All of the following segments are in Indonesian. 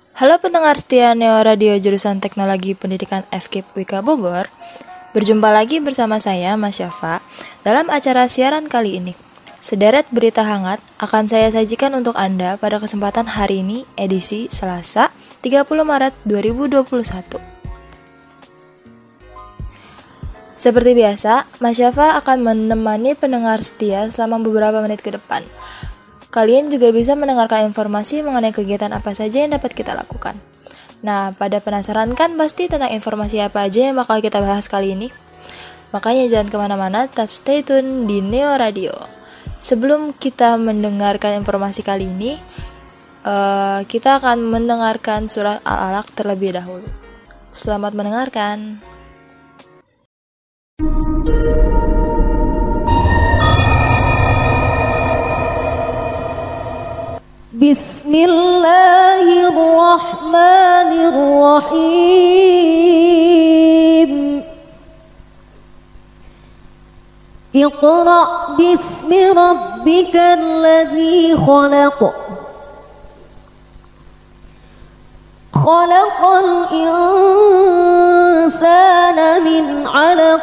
Halo pendengar setia Neo Radio jurusan Teknologi Pendidikan FKIP Wika Bogor. Berjumpa lagi bersama saya, Mas Syafa, dalam acara siaran kali ini. Sederet berita hangat akan saya sajikan untuk Anda pada kesempatan hari ini, edisi Selasa, 30 Maret 2021. Seperti biasa, Mas Syafa akan menemani pendengar setia selama beberapa menit ke depan. Kalian juga bisa mendengarkan informasi mengenai kegiatan apa saja yang dapat kita lakukan. Nah, pada penasaran kan pasti tentang informasi apa aja yang bakal kita bahas kali ini? Makanya jangan kemana-mana, tetap stay tune di Neo Radio. Sebelum kita mendengarkan informasi kali ini, kita akan mendengarkan surat Al-Alaq terlebih dahulu. Selamat mendengarkan. Bismillahirrahmanirrahim. Iqra' bismi rabbikal ladzi khalaq. Khalaqal insana min 'alaq.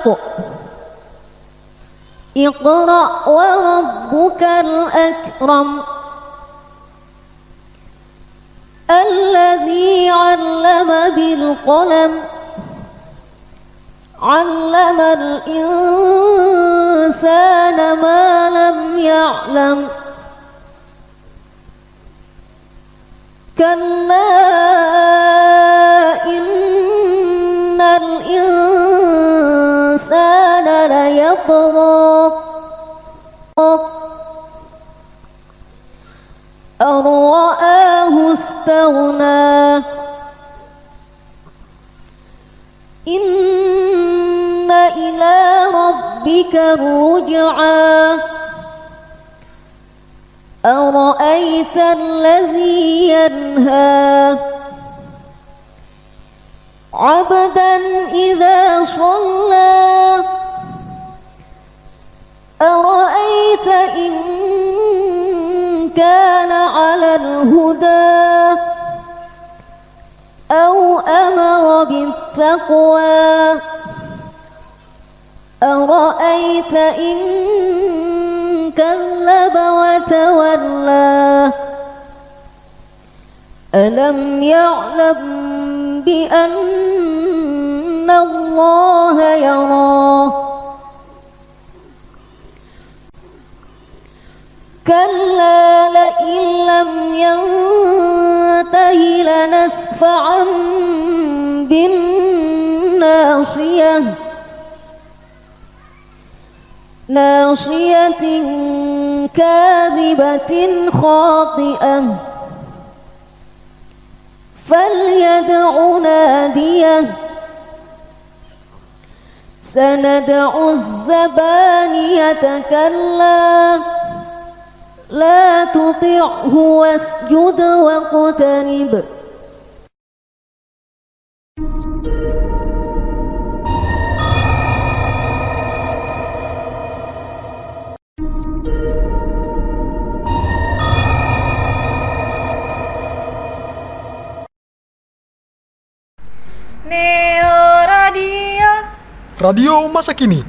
Iqra' wa rabbukal akram. الذي علم بالقلم علم الإنسان ما لم يعلم كلا إن الإنسان ليطغى أن رآه استغنى إن إلى ربك الرجعى أرأيت الذي ينهى عبدا إذا صلى أرأيت إن كان على الهدى أو أمر بالتقوى أرأيت إن كذب وتولى ألم يعلم بأن الله يراه كلا لئن لم ينته لنسفعا بالناصية ناصية كاذبة خاطئة فليدع ناديه سندع الزبانية كلا لا تطعه واسجد واقترب Neo Radio. Radio masa kini.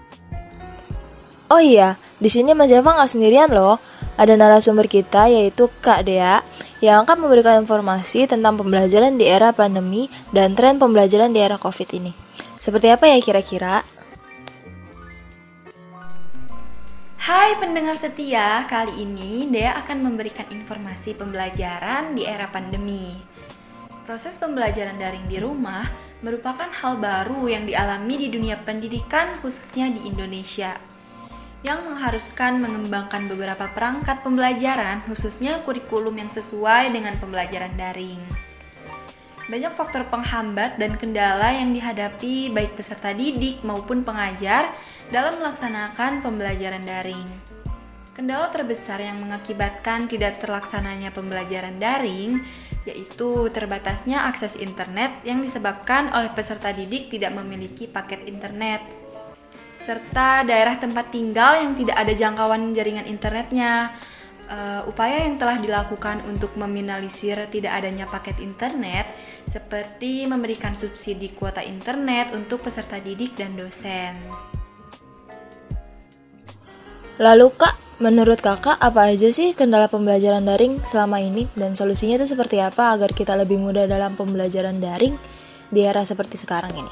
Oh iya, di sini Mas Java nggak sendirian loh. Ada narasumber kita yaitu Kak Dea yang akan memberikan informasi tentang pembelajaran di era pandemi dan tren pembelajaran di era COVID ini. Seperti apa ya kira-kira? Hai pendengar setia, kali ini Dea akan memberikan informasi pembelajaran di era pandemi. Proses pembelajaran daring di rumah merupakan hal baru yang dialami di dunia pendidikan khususnya di Indonesia, yang mengharuskan mengembangkan beberapa perangkat pembelajaran, khususnya kurikulum yang sesuai dengan pembelajaran daring. Banyak faktor penghambat dan kendala yang dihadapi baik peserta didik maupun pengajar dalam melaksanakan pembelajaran daring. Kendala terbesar yang mengakibatkan tidak terlaksananya pembelajaran daring yaitu terbatasnya akses internet yang disebabkan oleh peserta didik tidak memiliki paket internet, serta daerah tempat tinggal yang tidak ada jangkauan jaringan internetnya, upaya yang telah dilakukan untuk meminimalisir tidak adanya paket internet seperti memberikan subsidi kuota internet untuk peserta didik dan dosen. Lalu Kak, menurut Kakak apa aja sih kendala pembelajaran daring selama ini dan solusinya itu seperti apa agar kita lebih mudah dalam pembelajaran daring di era seperti sekarang ini?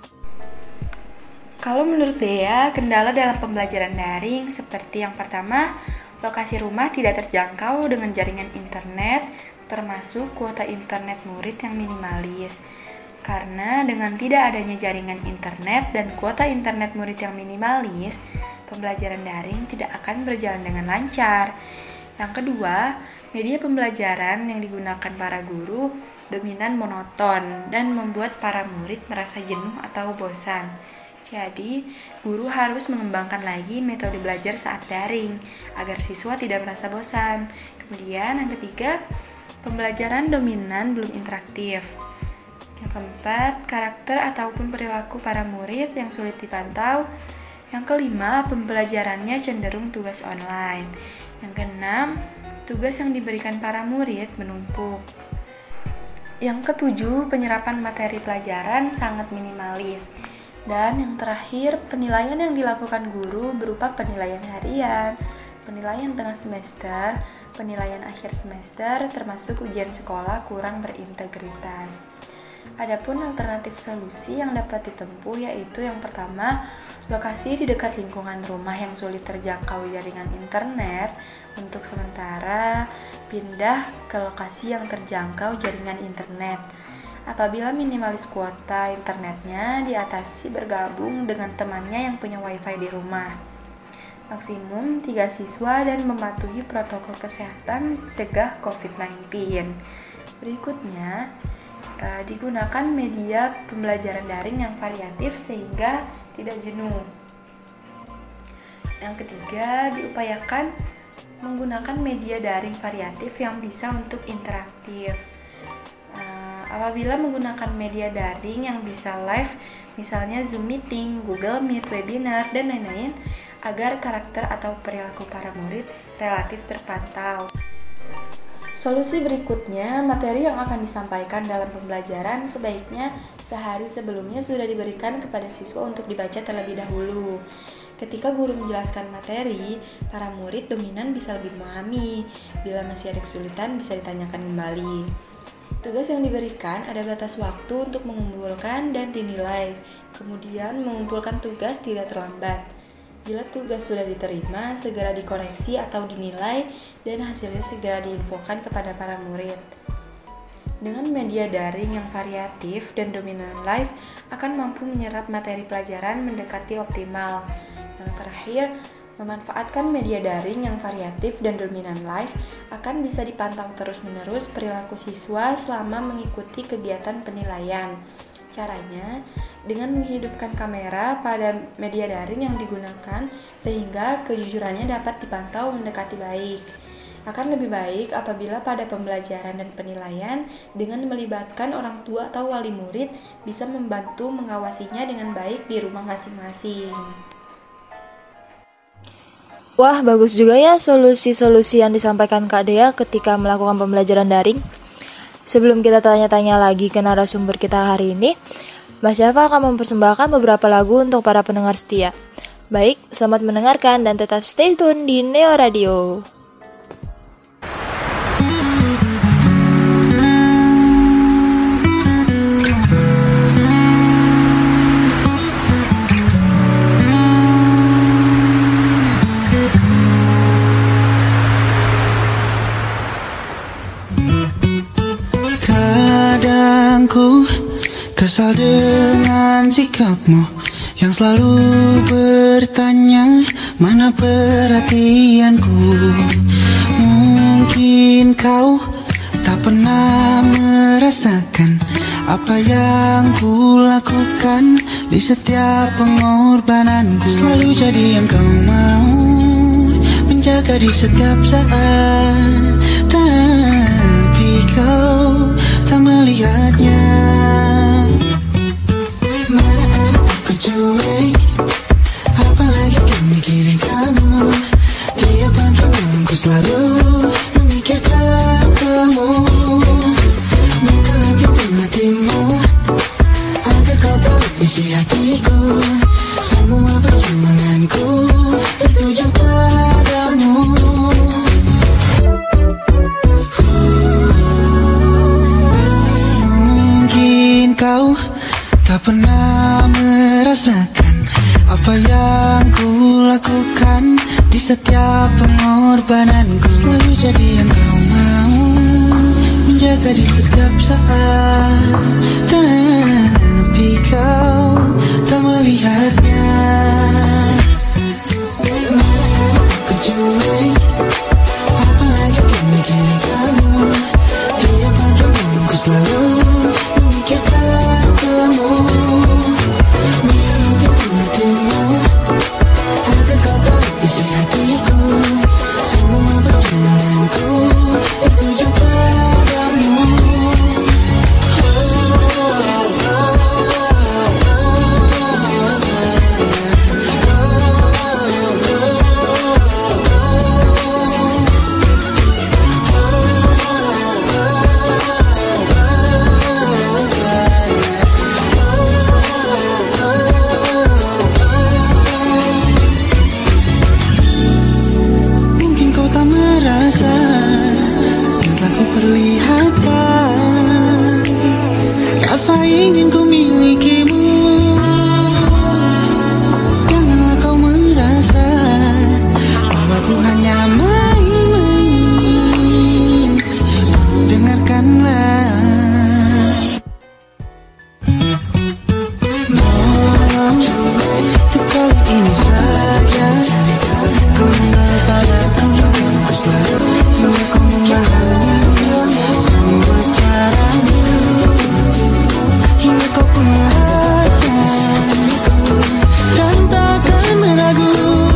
Kalau menurut Dea, kendala dalam pembelajaran daring seperti yang pertama, lokasi rumah tidak terjangkau dengan jaringan internet, termasuk kuota internet murid yang minimalis. Karena dengan tidak adanya jaringan internet dan kuota internet murid yang minimalis, pembelajaran daring tidak akan berjalan dengan lancar. Yang kedua, media pembelajaran yang digunakan para guru dominan monoton dan membuat para murid merasa jenuh atau bosan. Jadi, guru harus mengembangkan lagi metode belajar saat daring agar siswa tidak merasa bosan. Kemudian yang ketiga, pembelajaran dominan belum interaktif. Yang keempat, karakter ataupun perilaku para murid yang sulit dipantau. Yang kelima, pembelajarannya cenderung tugas online. Yang keenam, tugas yang diberikan para murid menumpuk. Yang ketujuh, penyerapan materi pelajaran sangat minimalis. Dan yang terakhir, penilaian yang dilakukan guru berupa penilaian harian, penilaian tengah semester, penilaian akhir semester, termasuk ujian sekolah kurang berintegritas. Adapun alternatif solusi yang dapat ditempuh yaitu yang pertama, lokasi di dekat lingkungan rumah yang sulit terjangkau jaringan internet, untuk sementara pindah ke lokasi yang terjangkau jaringan internet. Apabila minimalis kuota internetnya, diatasi bergabung dengan temannya yang punya wifi di rumah. Maksimum 3 siswa dan mematuhi protokol kesehatan cegah COVID-19. Berikutnya, digunakan media pembelajaran daring yang variatif sehingga tidak jenuh. Yang ketiga, diupayakan menggunakan media daring variatif yang bisa untuk interaktif. Apabila menggunakan media daring yang bisa live, misalnya Zoom Meeting, Google Meet, webinar, dan lain-lain, agar karakter atau perilaku para murid relatif terpantau. Solusi berikutnya, materi yang akan disampaikan dalam pembelajaran sebaiknya sehari sebelumnya sudah diberikan kepada siswa untuk dibaca terlebih dahulu. Ketika guru menjelaskan materi, para murid dominan bisa lebih memahami. Bila masih ada kesulitan, bisa ditanyakan kembali. Tugas yang diberikan ada batas waktu untuk mengumpulkan dan dinilai. Kemudian mengumpulkan tugas tidak terlambat. Bila tugas sudah diterima, segera dikoreksi atau dinilai dan hasilnya segera diinfokan kepada para murid. Dengan media daring yang variatif dan dominan live akan mampu menyerap materi pelajaran mendekati optimal. Yang terakhir, memanfaatkan media daring yang variatif dan dominan live akan bisa dipantau terus-menerus perilaku siswa selama mengikuti kegiatan penilaian. Caranya, dengan menghidupkan kamera pada media daring yang digunakan sehingga kejujurannya dapat dipantau mendekati baik. Akan lebih baik apabila pada pembelajaran dan penilaian dengan melibatkan orang tua atau wali murid bisa membantu mengawasinya dengan baik di rumah masing-masing. Wah, bagus juga ya solusi-solusi yang disampaikan Kak Dea ketika melakukan pembelajaran daring. Sebelum kita tanya-tanya lagi ke narasumber kita hari ini, Mas Syafa akan mempersembahkan beberapa lagu untuk para pendengar setia. Baik, selamat mendengarkan dan tetap stay tune di Neo Radio. Ku kesal dengan sikapmu yang selalu bertanya mana perhatianku. Mungkin kau tak pernah merasakan apa yang ku lakukan di setiap pengorbananku. Selalu jadi yang kau mau, menjaga di setiap saat, tapi kau tak melihatnya. Mana aku cuek, apalagi ku mikirin kamu. Tiap pagi ku selalu setiap pengorbananku. Selalu jadi yang kau mau, menjaga di setiap saat. Tapi kau tak melihatnya. Ku cuek, apalagi ku mikirin kamu. Tiap pagi bangun ku selalu memikirkan kamu. Bukan hatimu, agar kau tahu isi hatiku. Semua perjuanganku tertuju padamu. Mungkin kau tak merasa yang telah ku perlihatkan, rasa ingin ku milikimu. Janganlah kau merasa bahwa ku hanya main-main. Dengarkanlah, untuk kali ini saja kembali padaku. Ku selalu hingga kau memahami semua caranya, hingga kau pun merasa dan takkan meragu.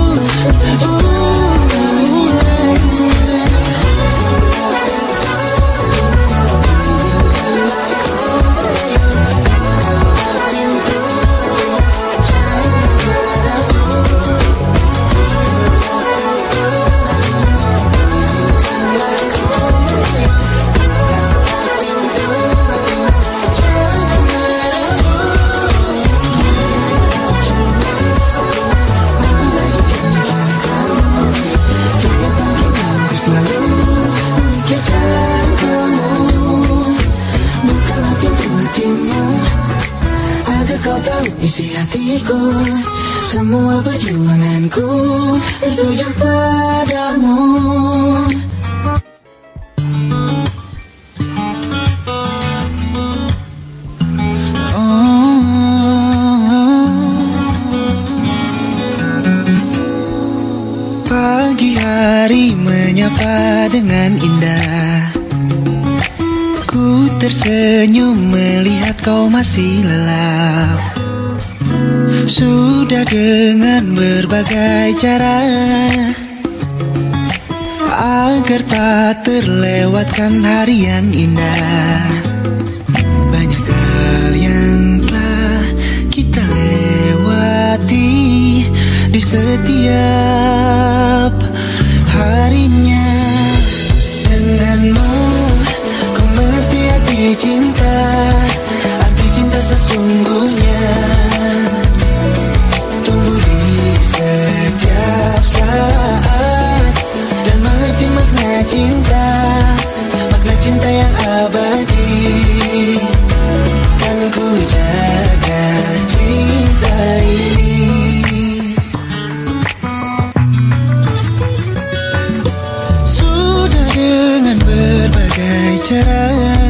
Ku selalu memikirkan kamu. Bukalah pintu hatimu, agar kau tahu isi hatiku. Semua perjuanganku tertuju padamu. Pagi hari menyapa dengan indah. Ku tersenyum melihat kau masih lelap. Sudah dengan berbagai cara agar tak terlewatkan hari yang indah. Banyak hal yang telah kita lewati di setiap harinya. Denganmu ku mengerti arti cinta, arti cinta sesungguhnya. Tumbuh di setiap saat dan mengerti makna cinta, makna cinta yang abadi. Kan ku jaga cinta ini. Sudah dengan berbagai cara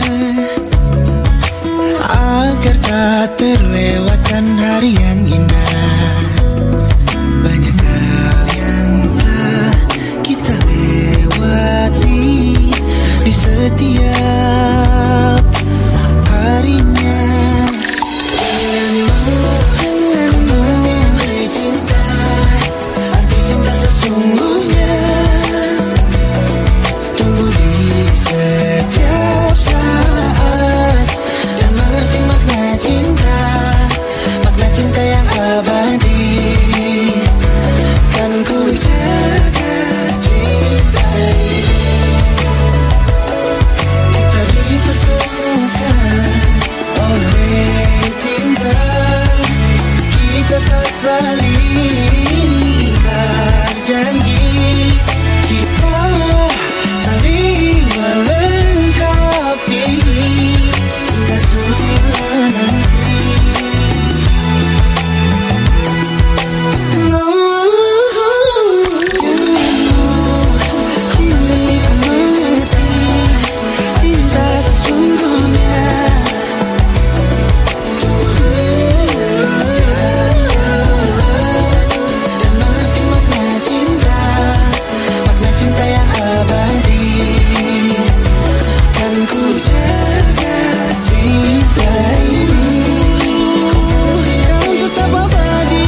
agar tak terlewatkan hari yang indah. Banyak hal yang telah kita lewati di setiap harinya. Denganmu ku mengerti arti cinta, arti cinta sesungguhnya. Tumbuh di setiap saat dan mengerti makna cinta, makna cinta yang jaga cinta ini, yang tetap abadi.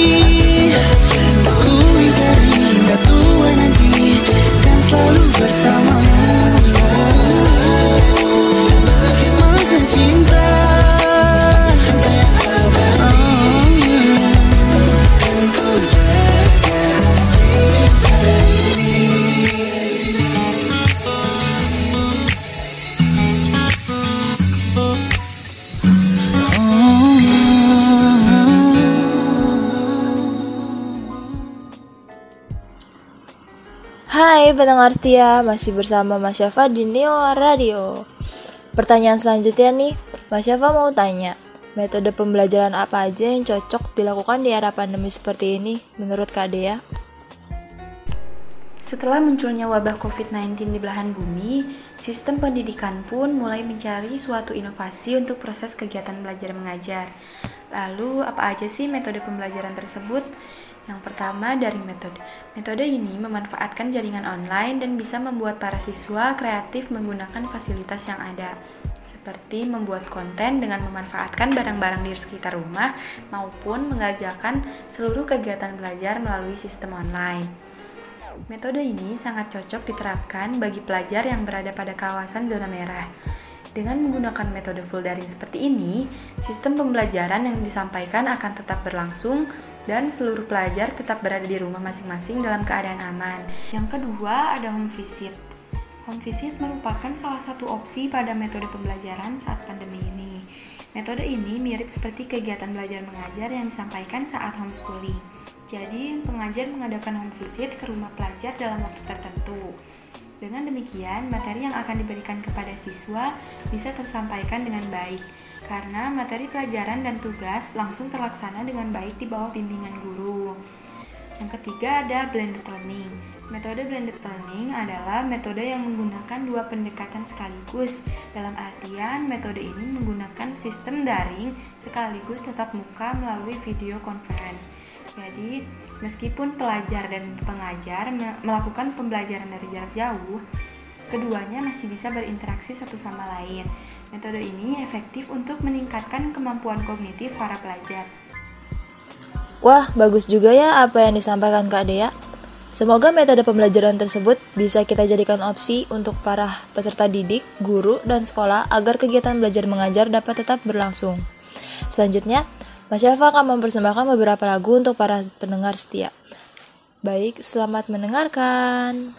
Ku ingkari hingga tua nanti, dan selalu bersamamu. Makan cinta, cinta yang abadi. Kan ku jaga cinta ini. Hai pendengar setia, masih bersama Mas Syafa di Neo Radio. Pertanyaan selanjutnya nih, Mas Syafa mau tanya, metode pembelajaran apa aja yang cocok dilakukan di era pandemi seperti ini menurut Kak Dea? Setelah munculnya wabah COVID-19 di belahan bumi, sistem pendidikan pun mulai mencari suatu inovasi untuk proses kegiatan belajar mengajar. Lalu, apa aja sih metode pembelajaran tersebut? Yang pertama dari metode. Metode ini memanfaatkan jaringan online dan bisa membuat para siswa kreatif menggunakan fasilitas yang ada, seperti membuat konten dengan memanfaatkan barang-barang di sekitar rumah maupun mengerjakan seluruh kegiatan belajar melalui sistem online. Metode ini sangat cocok diterapkan bagi pelajar yang berada pada kawasan zona merah. Dengan menggunakan metode full daring seperti ini, sistem pembelajaran yang disampaikan akan tetap berlangsung dan seluruh pelajar tetap berada di rumah masing-masing dalam keadaan aman. Yang kedua, ada home visit. Home visit merupakan salah satu opsi pada metode pembelajaran saat pandemi ini. Metode ini mirip seperti kegiatan belajar mengajar yang disampaikan saat homeschooling. Jadi, pengajar mengadakan home visit ke rumah pelajar dalam waktu tertentu. Dengan demikian, materi yang akan diberikan kepada siswa bisa tersampaikan dengan baik, karena materi pelajaran dan tugas langsung terlaksana dengan baik di bawah bimbingan guru. Yang ketiga ada blended learning. Metode blended learning adalah metode yang menggunakan dua pendekatan sekaligus. Dalam artian, metode ini menggunakan sistem daring sekaligus tatap muka melalui video conference. Jadi, meskipun pelajar dan pengajar melakukan pembelajaran dari jarak jauh, keduanya masih bisa berinteraksi satu sama lain. Metode ini efektif untuk meningkatkan kemampuan kognitif para pelajar. Wah, bagus juga ya apa yang disampaikan Kak Dea. Semoga metode pembelajaran tersebut bisa kita jadikan opsi untuk para peserta didik, guru, dan sekolah agar kegiatan belajar mengajar dapat tetap berlangsung. Selanjutnya, Mas Syafa akan mempersembahkan beberapa lagu untuk para pendengar setia. Baik, selamat mendengarkan.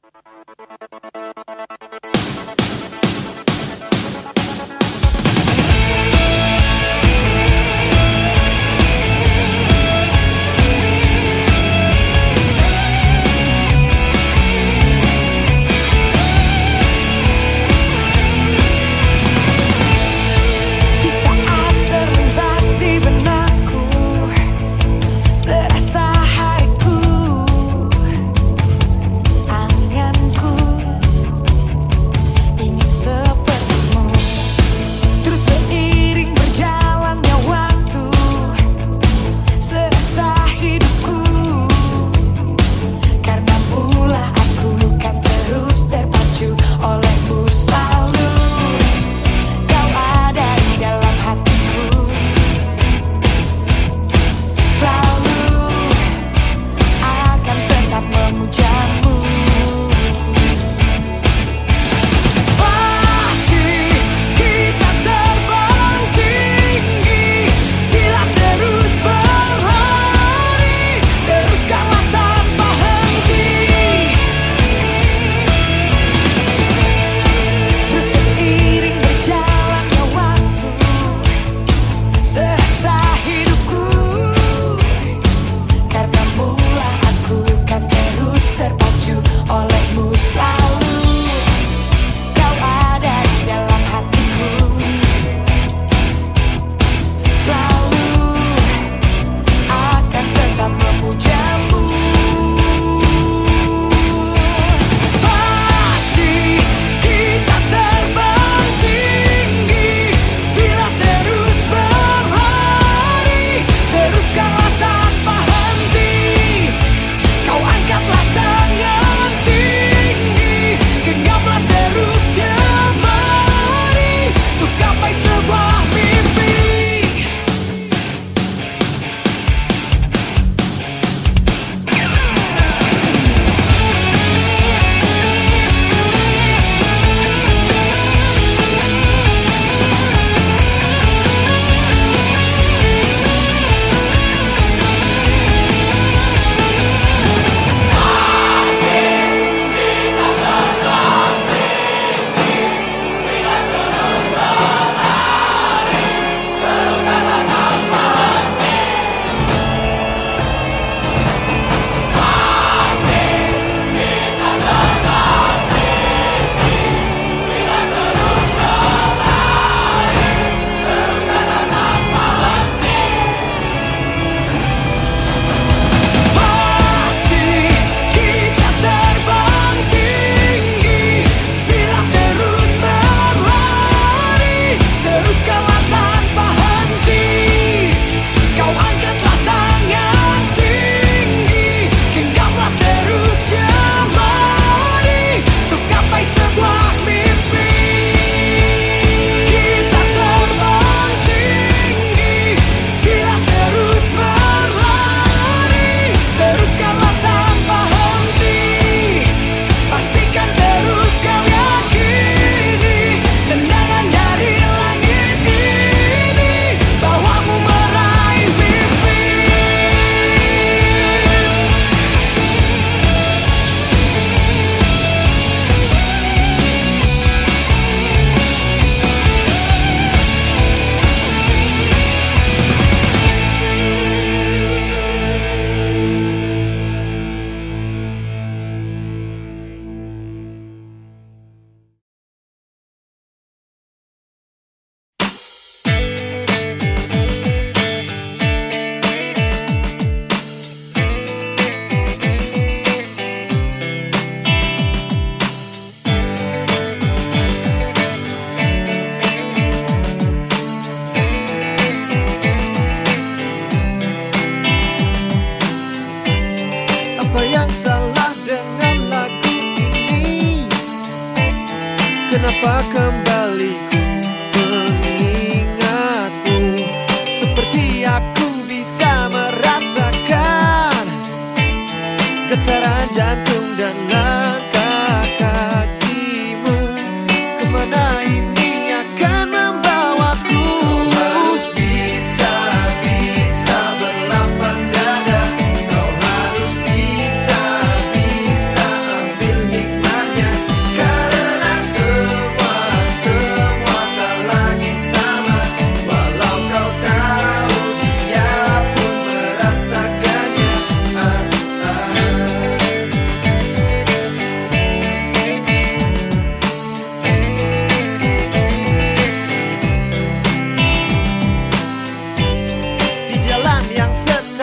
Serasa hariku, anganku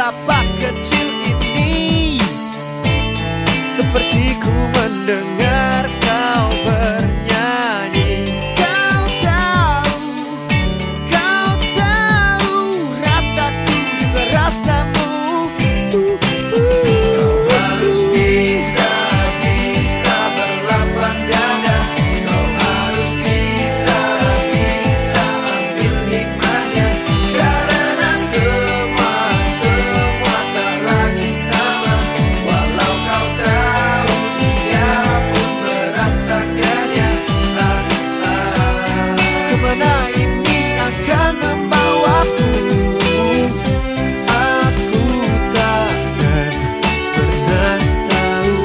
betapa kecil ini, seperti ku mendengar kau bernyanyi. Kau tahu rasaku juga rasamu. Kau harus bisa berlapang dada. Kau harus bisa ambil hikmahnya. Karena semua tak lagi sama. Walau kau tahu dia pun merasakannya. Kemana ini akan membawaku? Aku takkan pernah tahu.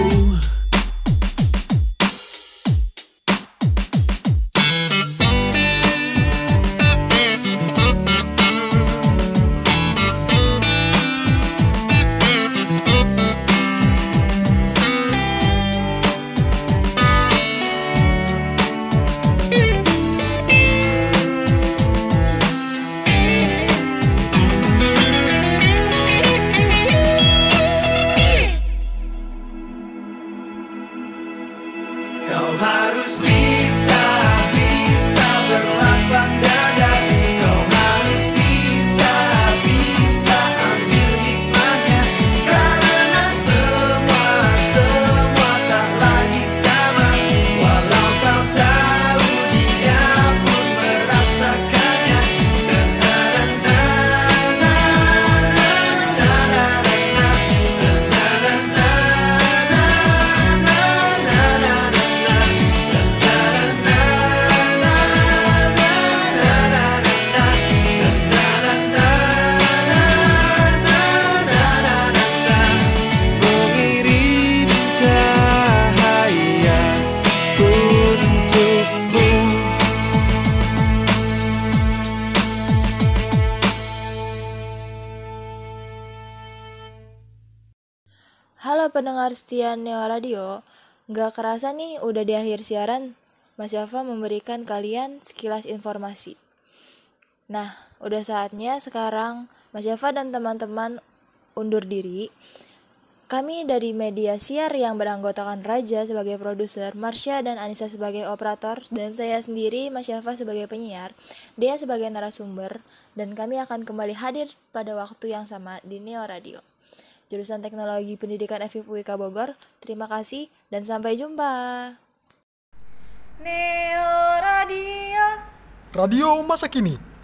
Kau harus bisa berlapang dada. Kau harus bisa ambil hikmahnya. Karena semua tak lagi sama. Walau kau tahu dia pun merasakannya. Mengirim cahaya untukmu. Halo pendengar setia Neo Radio, nggak kerasa nih udah di akhir siaran, Mas Yafa memberikan kalian sekilas informasi. Nah, udah saatnya sekarang Mas Yafa dan teman-teman undur diri. Kami dari media siar yang beranggotakan Raja sebagai produser, Marsha dan Anissa sebagai operator, dan saya sendiri, Mas Yafa sebagai penyiar, Dea sebagai narasumber, dan kami akan kembali hadir pada waktu yang sama di Neo Radio. Jurusan Teknologi Pendidikan FIP UIK Bogor. Terima kasih dan sampai jumpa. Neo Radio. Radio masa kini.